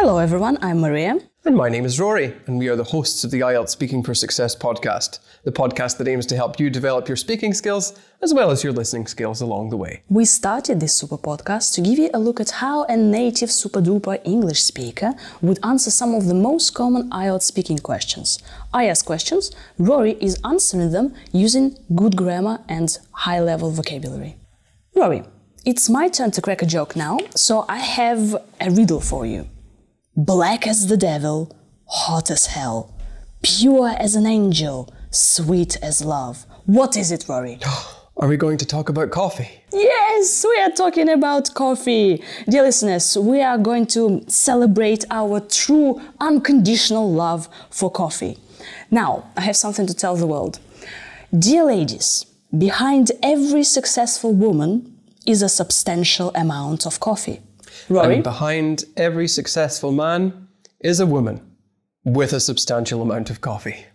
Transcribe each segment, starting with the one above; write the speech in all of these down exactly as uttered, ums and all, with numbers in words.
Hello everyone, I'm Maria. And my name is Rory, and we are the hosts of the I E L T S Speaking for Success podcast, the podcast that aims to help you develop your speaking skills as well as your listening skills along the way. We started this super podcast to give you a look at how a native super duper English speaker would answer some of the most common I E L T S speaking questions. I ask questions, Rory is answering them using good grammar and high-level vocabulary. Rory, it's my turn to crack a joke now, so I have a riddle for you. Black as the devil, hot as hell, pure as an angel, sweet as love. What is it, Rory? Are we going to talk about coffee? Yes, we are talking about coffee. Dear listeners, we are going to celebrate our true unconditional love for coffee. Now, I have something to tell the world. Dear ladies, behind every successful woman is a substantial amount of coffee. Rory? And behind every successful man is a woman with a substantial amount of coffee.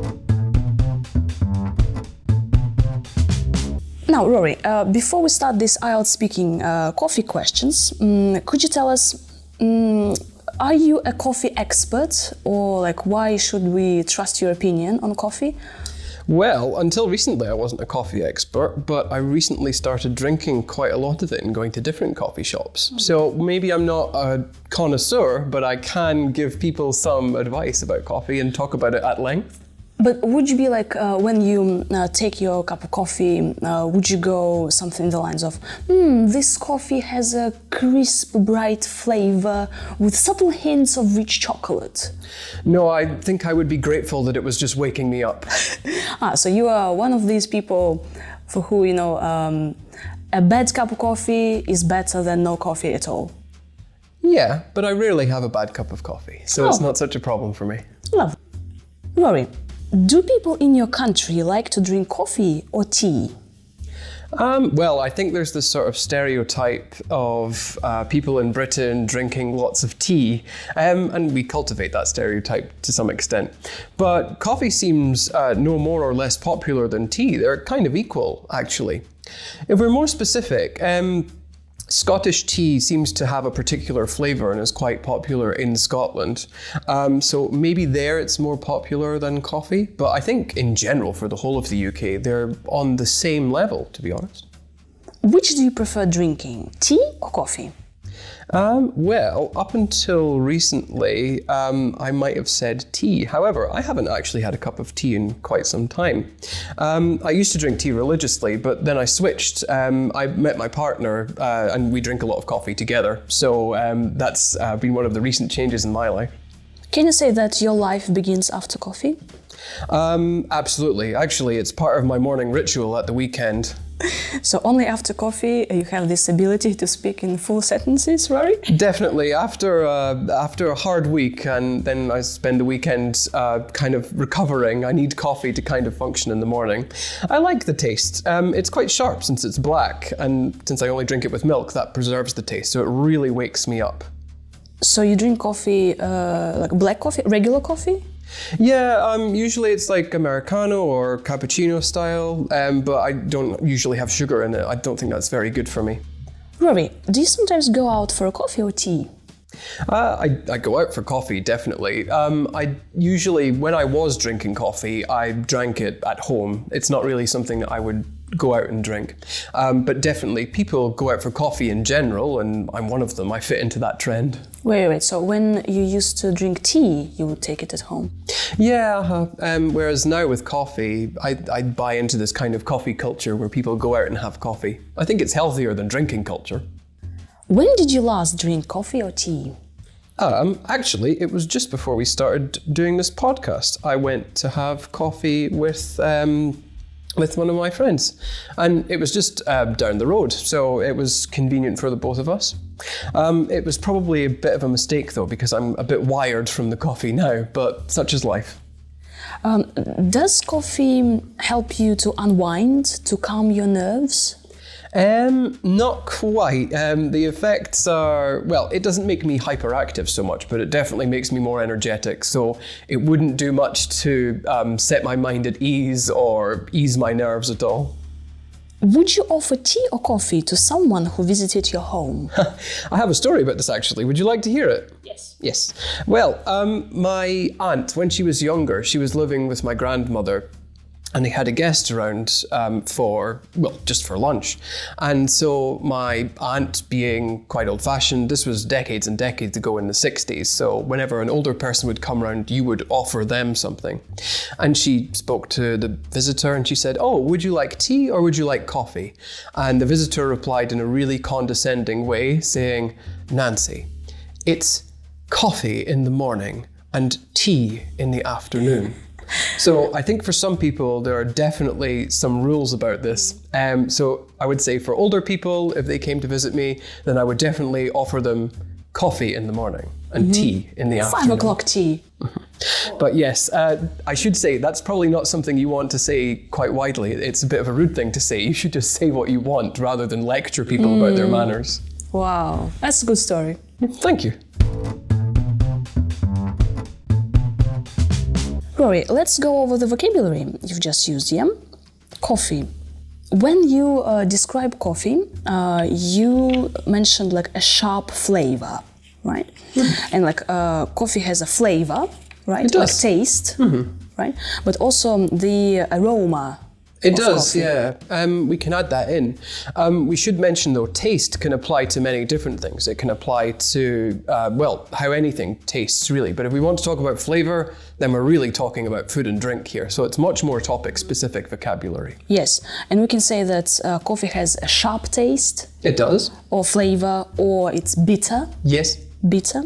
Now, Rory, uh, before we start this I E L T S speaking uh, coffee questions, um, could you tell us, um, are you a coffee expert, or like why should we trust your opinion on coffee? Well, until recently I wasn't a coffee expert, but I recently started drinking quite a lot of it and going to different coffee shops. Mm. So maybe I'm not a connoisseur, but I can give people some advice about coffee and talk about it at length. But would you be like, uh, when you uh, take your cup of coffee, uh, would you go something in the lines of, hmm, this coffee has a crisp, bright flavor with subtle hints of rich chocolate? No, I think I would be grateful that it was just waking me up. ah, so you are one of these people for who, you know, um, a bad cup of coffee is better than no coffee at all. Yeah, but I rarely have a bad cup of coffee, so oh. It's not such a problem for me. Love. Rory, do people in your country like to drink coffee or tea? Um, well, I think there's this sort of stereotype of uh, people in Britain drinking lots of tea, um, and we cultivate that stereotype to some extent. But coffee seems uh, no more or less popular than tea. They're kind of equal, actually. If we're more specific, um, Scottish tea seems to have a particular flavour and is quite popular in Scotland. Um, so maybe there it's more popular than coffee, but I think in general for the whole of the U K, they're on the same level, to be honest. Which do you prefer drinking, tea or coffee? Um, well, up until recently, um, I might have said tea. However, I haven't actually had a cup of tea in quite some time. Um, I used to drink tea religiously, but then I switched. Um, I met my partner uh, and we drink a lot of coffee together. So um, that's uh, been one of the recent changes in my life. Can you say that your life begins after coffee? Um, absolutely. Actually, it's part of my morning ritual at the weekend. So only after coffee you have this ability to speak in full sentences, Rory? Definitely. After uh, after a hard week, and then I spend the weekend uh, kind of recovering, I need coffee to kind of function in the morning. I like the taste. Um, it's quite sharp since it's black, and since I only drink it with milk, that preserves the taste, so it really wakes me up. So you drink coffee, uh, like black coffee, regular coffee? Yeah, um, usually it's like Americano or cappuccino style, um, but I don't usually have sugar in it. I don't think that's very good for me. Rory, do you sometimes go out for a coffee or tea? Uh, I, I go out for coffee, definitely. Um, I usually, when I was drinking coffee, I drank it at home. It's not really something that I would go out and drink. Um, but definitely, people go out for coffee in general, and I'm one of them. I fit into that trend. Wait, wait, so when you used to drink tea, you would take it at home? Yeah, uh, um, whereas now with coffee, I, I buy into this kind of coffee culture where people go out and have coffee. I think it's healthier than drinking culture. When did you last drink coffee or tea? Um, actually, it was just before we started doing this podcast. I went to have coffee with um, with one of my friends, and it was just uh, down the road, so it was convenient for the both of us. Um, it was probably a bit of a mistake though, because I'm a bit wired from the coffee now, but such is life. Um, does coffee help you to unwind, to calm your nerves? Um, not quite. Um, the effects are, well, it doesn't make me hyperactive so much, but it definitely makes me more energetic. So it wouldn't do much to um, set my mind at ease or ease my nerves at all. Would you offer tea or coffee to someone who visited your home? I have a story about this actually. Would you like to hear it? Yes. Yes. Well, um, my aunt, when she was younger, she was living with my grandmother. And they had a guest around um, for, well, just for lunch. And so my aunt, being quite old-fashioned, this was decades and decades ago in the sixties. So whenever an older person would come around, you would offer them something. And she spoke to the visitor and she said, oh, would you like tea or would you like coffee? And the visitor replied in a really condescending way, saying, Nancy, it's coffee in the morning and tea in the afternoon. So I think for some people, there are definitely some rules about this. Um, so I would say for older people, if they came to visit me, then I would definitely offer them coffee in the morning and mm-hmm. tea in the afternoon. Five o'clock tea. But yes, uh, I should say that's probably not something you want to say quite widely. It's a bit of a rude thing to say. You should just say what you want rather than lecture people mm. about their manners. Wow, that's a good story. Thank you. Rory, let's go over the vocabulary you've just used, yeah? Coffee. When you uh, describe coffee, uh, you mentioned like a sharp flavor, right? Mm-hmm. And like uh, coffee has a flavor, right? It does. Like taste, mm-hmm. right? But also the aroma. It does, coffee. yeah. Um, we can add that in. Um, we should mention, though, taste can apply to many different things. It can apply to, uh, well, how anything tastes, really. But if we want to talk about flavour, then we're really talking about food and drink here. So it's much more topic-specific vocabulary. Yes, and we can say that uh, coffee has a sharp taste. It does. Or flavour, or it's bitter. Yes. Bitter.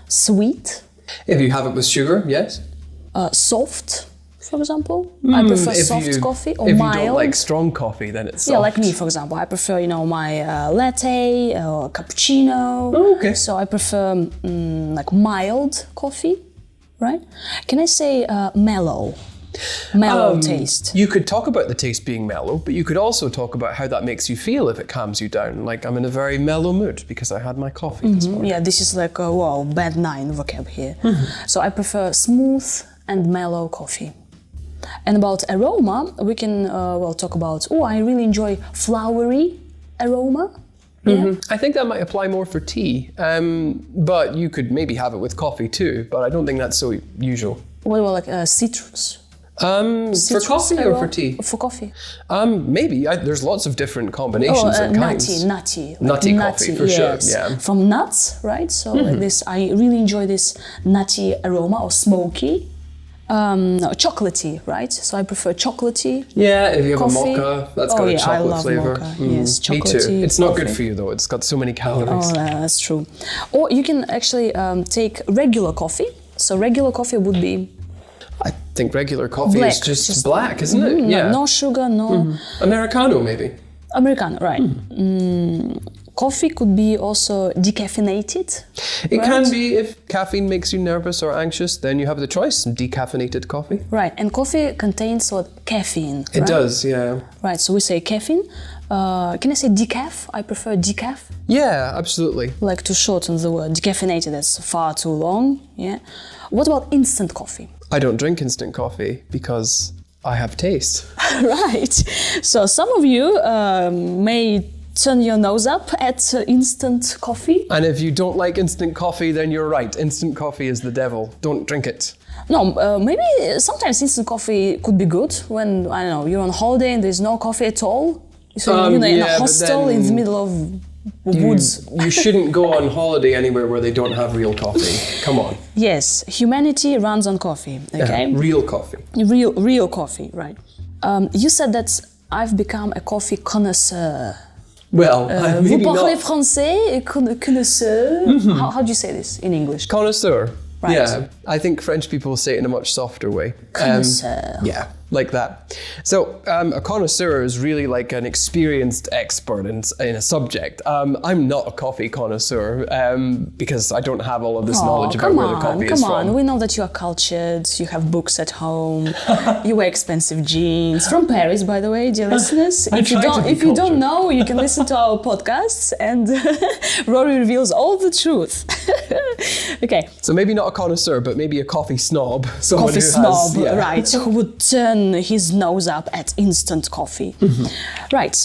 Sweet. If you have it with sugar, yes. Uh, soft. For example, mm, I prefer soft you, coffee or if mild. If you don't like strong coffee, then it's soft. Yeah, like me, for example. I prefer, you know, my uh, latte or cappuccino. Oh, okay. So I prefer um, like mild coffee, right? Can I say uh, mellow? Mellow um, taste. You could talk about the taste being mellow, but you could also talk about how that makes you feel if it calms you down. Like, I'm in a very mellow mood because I had my coffee mm-hmm. this morning. Yeah, this is like a, wow, bad nine vocab here. Mm-hmm. So I prefer smooth and mellow coffee. And about aroma, we can uh, well talk about, oh, I really enjoy flowery aroma. Yeah. Mm-hmm. I think that might apply more for tea, um, but you could maybe have it with coffee too, but I don't think that's so usual. What about like uh, citrus? Um, citrus? For coffee aroma? or for tea? For coffee. Um, maybe. I, there's lots of different combinations oh, uh, and kinds. Nutty, nutty. Like nutty nutty coffee, for yes. sure, yeah. From nuts, right? So mm-hmm. like this, I really enjoy this nutty aroma or smoky. Um, no, chocolatey, right? So I prefer chocolatey. Yeah, if you have coffee. a mocha, that's oh, got yeah, a chocolate I love flavour. Mocha. Mm. Yes, chocolatey. Me too. It's not coffee. good for you though. It's got so many calories. Oh, that's true. Or you can actually um, take regular coffee. So regular coffee would be. I think regular coffee black, is just, just black, isn't mm, it? Yeah. No, no sugar, no. Mm-hmm. Americano, maybe. Americano, right. Mm. Mm, coffee could be also decaffeinated. It right? can be if caffeine makes you nervous or anxious, then you have the choice, some decaffeinated coffee. Right, and coffee contains what? Caffeine. It right? does, yeah. Right, so we say caffeine. Uh, can I say decaf? I prefer decaf. Yeah, absolutely. Like to shorten the word. Decaffeinated, that's far too long. Yeah. What about instant coffee? I don't drink instant coffee because I have taste. Right. So some of you um, may turn your nose up at uh, instant coffee. And if you don't like instant coffee, then you're right. Instant coffee is the devil. Don't drink it. No, uh, maybe sometimes instant coffee could be good when, I don't know, you're on holiday and there's no coffee at all. So um, you're in yeah, a hostel in the middle of you, woods. You shouldn't go on holiday anywhere where they don't have real coffee. Come on. Yes, humanity runs on coffee, okay? Yeah, real coffee. Real, real coffee, right. Um, you said that I've become a coffee connoisseur. Well, uh, maybe vous parlez not. français, connoisseur. Mm-hmm. How, how do you say this in English? Connoisseur. Right. Yeah, I think French people say it in a much softer way. Connoisseur. Um, yeah, like that. So um, a connoisseur is really like an experienced expert in, in a subject. Um, I'm not a coffee connoisseur um, because I don't have all of this oh, knowledge about come where on, the coffee come is on. from. We know that you are cultured, you have books at home, you wear expensive jeans. From Paris, by the way, dear listeners. I if you try to don't be if you don't cultured. know, you can listen to our podcasts and Rory reveals all the truth. Okay. So maybe not a connoisseur, but maybe a coffee snob. Someone Coffee who snob, has, yeah. right, who would turn his nose up at instant coffee. Mm-hmm. Right.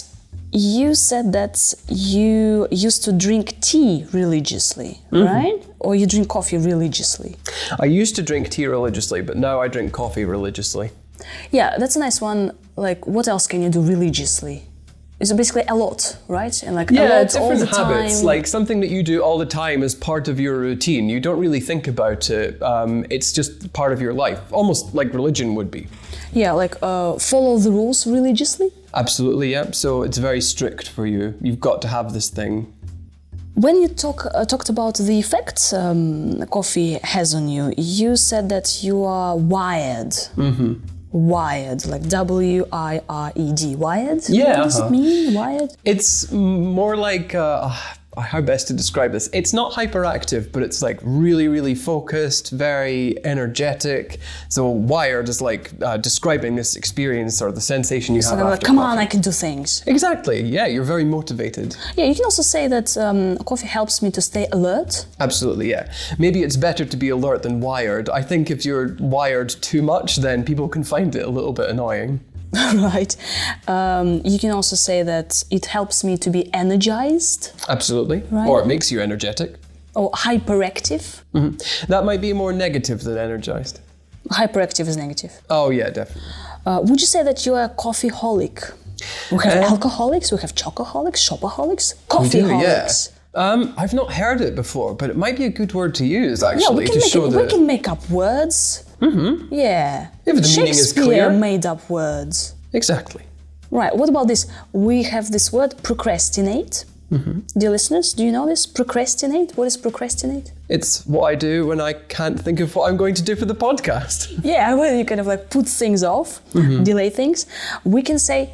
You said that you used to drink tea religiously, mm-hmm. right? Or you drink coffee religiously? I used to drink tea religiously, but now I drink coffee religiously. Yeah, that's a nice one. Like, what else can you do religiously? It's basically a lot, right? And like yeah, a lot different all the habits, time. like something that you do all the time as part of your routine. You don't really think about it. Um, it's just part of your life, almost like religion would be. Yeah, like uh, follow the rules religiously? Absolutely, yeah. So it's very strict for you. You've got to have this thing. When you talk uh, talked about the effects um, coffee has on you, you said that you are wired. Mm-hmm. Wired, like W I R E D, wired? Yeah. What does uh-huh. it mean, wired? It's more like, uh, how best to describe this? It's not hyperactive, but it's like really, really focused, very energetic. So wired is like uh, describing this experience or the sensation you So have I'm after like, come coffee. on, I can do things. Exactly, yeah, you're very motivated. Yeah, you can also say that um, coffee helps me to stay alert. Absolutely, yeah. Maybe it's better to be alert than wired. I think if you're wired too much, then people can find it a little bit annoying. Right. Um, you can also say that it helps me to be energized. Absolutely. Right. Or it makes you energetic. Or hyperactive. Mm-hmm. That might be more negative than energized. Hyperactive is negative. Oh, yeah, definitely. Uh, would you say that you're a coffeeholic? We have Um, alcoholics, we have chocoholics, shopaholics, We do, yeah. coffeeholics. Um, I've not heard it before, but it might be a good word to use, Yeah, actually, we can, to make show it, that... we can make up words. Mm-hmm. Yeah. If the meaning is Shakespeare clear. made up words. Exactly. Right, what about this? We have this word procrastinate. Mm-hmm. Dear listeners, do you know this? Procrastinate? What is procrastinate? It's what I do when I can't think of what I'm going to do for the podcast. Yeah, when you kind of like put things off, Mm-hmm. delay things. We can say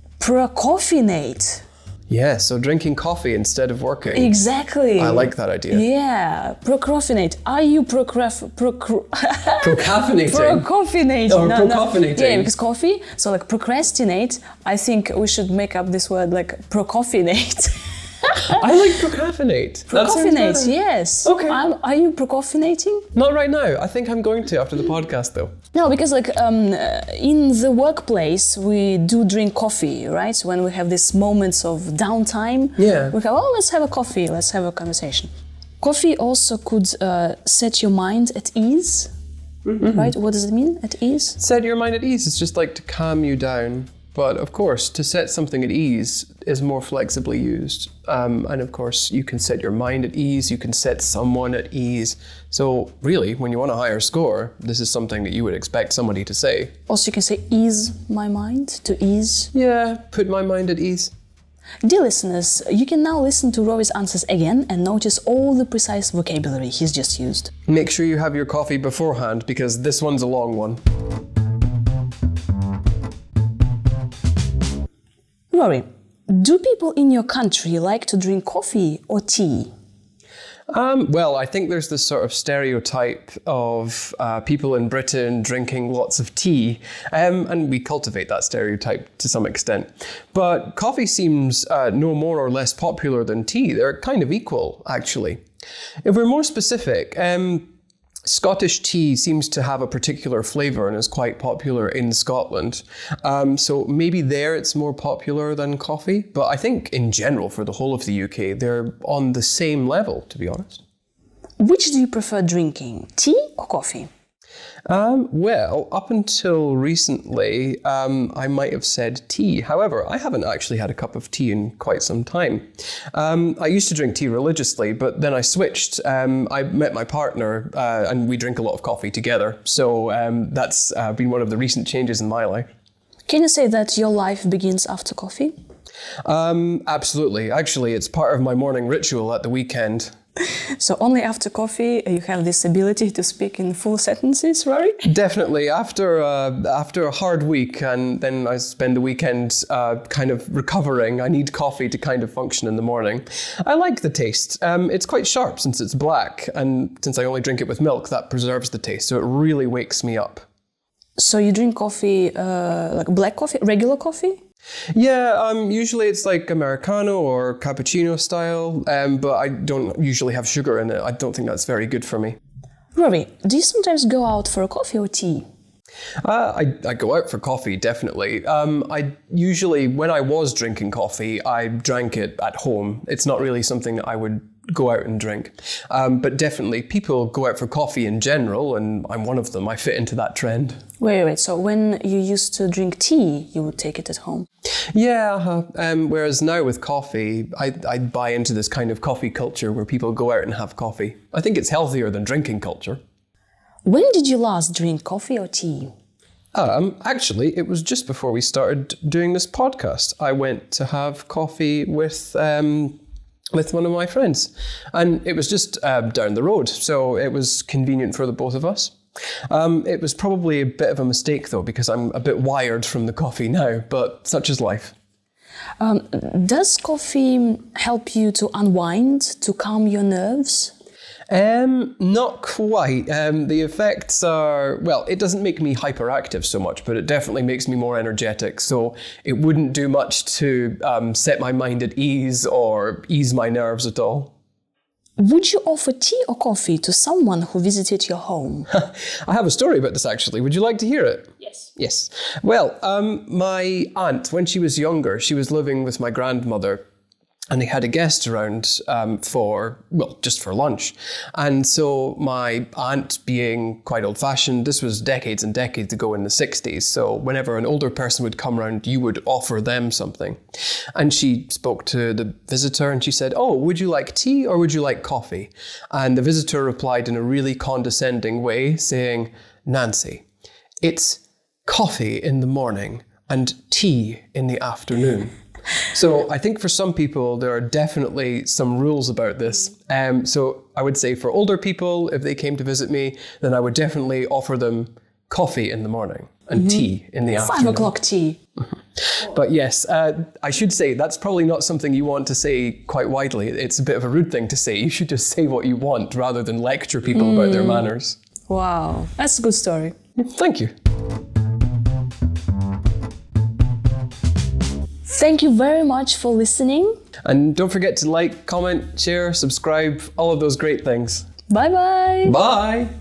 procrastinate. Yeah, so drinking coffee instead of working. Exactly. I like that idea. Yeah, procrastinate. Are you procraf... Procr- Procrastinating. Procrastinating. Or procrastinating. Yeah, because coffee. So like procrastinate, I think we should make up this word like procrastinate. I like procrastinate. That sounds Procrastinate, better. yes. Okay. I'm, are you procrastinating? Not right now. I think I'm going to after the podcast, though. No, because like um, uh, in the workplace we do drink coffee, right? So when we have these moments of downtime, Yeah. we go, oh, let's have a coffee, let's have a conversation. Coffee also could uh, set your mind at ease, mm-hmm. right? What does it mean, at ease? Set your mind at ease. It's just like to calm you down. But of course, to set something at ease is more flexibly used. Um, and of course, you can set your mind at ease, you can set someone at ease. So really, when you want a higher score, this is something that you would expect somebody to say. Also, you can say ease my mind, to ease. Yeah, put my mind at ease. Dear listeners, you can now listen to Rory's answers again and notice all the precise vocabulary he's just used. Make sure you have your coffee beforehand because this one's a long one. Rory, do people in your country like to drink coffee or tea? Um, well, I think there's this sort of stereotype of uh, people in Britain drinking lots of tea, um, and we cultivate that stereotype to some extent. But coffee seems uh, no more or less popular than tea. They're kind of equal, actually. If we're more specific, um, Scottish tea seems to have a particular flavour and is quite popular in Scotland. Um, so maybe there it's more popular than coffee. But I think in general, for the whole of the U K, they're on the same level, to be honest. Which do you prefer drinking, tea or coffee? Um, well, up until recently, um, I might have said tea. However, I haven't actually had a cup of tea in quite some time. Um, I used to drink tea religiously, but then I switched. Um, I met my partner uh, and we drink a lot of coffee together. So um, that's uh, been one of the recent changes in my life. Can you say that your life begins after coffee? Um, absolutely. Actually, it's part of my morning ritual at the weekend. So only after coffee you have this ability to speak in full sentences, Rory? Definitely. After uh, after a hard week, and then I spend the weekend uh, kind of recovering, I need coffee to kind of function in the morning. I like the taste. Um, it's quite sharp since it's black, and since I only drink it with milk, that preserves the taste, so it really wakes me up. So you drink coffee, uh, like black coffee, regular coffee? Yeah, um, usually it's like Americano or cappuccino style, um, but I don't usually have sugar in it. I don't think that's very good for me. Rory, do you sometimes go out for a coffee or tea? Uh, I, I go out for coffee, definitely. Um, I usually, when I was drinking coffee, I drank it at home. It's not really something I would go out and drink. Um, but definitely, people go out for coffee in general, and I'm one of them. I fit into that trend. Wait, wait, so when you used to drink tea, you would take it at home? Yeah, uh-huh. um, whereas now with coffee, I, I buy into this kind of coffee culture where people go out and have coffee. I think it's healthier than drinking culture. When did you last drink coffee or tea? Um, actually, it was just before we started doing this podcast. I went to have coffee with um, with one of my friends, and it was just uh, down the road, so it was convenient for the both of us. Um, it was probably a bit of a mistake though, because I'm a bit wired from the coffee now, but such is life. Um, does coffee help you to unwind, to calm your nerves? Um, not quite. Um, the effects are, well, it doesn't make me hyperactive so much, but it definitely makes me more energetic. So it wouldn't do much to um, set my mind at ease or ease my nerves at all. Would you offer tea or coffee to someone who visited your home? I have a story about this actually. Would you like to hear it? Yes. Yes. Well, um, my aunt, when she was younger, she was living with my grandmother. And they had a guest around um, for, well, just for lunch. And so my aunt, being quite old-fashioned, this was decades and decades ago in the sixties. So whenever an older person would come around, you would offer them something. And she spoke to the visitor and she said, "Oh, would you like tea or would you like coffee?" And the visitor replied in a really condescending way, saying, "Nancy, it's coffee in the morning and tea in the afternoon." So I think for some people, there are definitely some rules about this. Um, so I would say for older people, if they came to visit me, then I would definitely offer them coffee in the morning and mm-hmm. tea in the afternoon. Five o'clock tea. But yes, uh, I should say that's probably not something you want to say quite widely. It's a bit of a rude thing to say. You should just say what you want rather than lecture people mm. about their manners. Wow, that's a good story. Thank you. Thank you very much for listening. And don't forget to like, comment, share, subscribe, all of those great things. Bye-bye. Bye.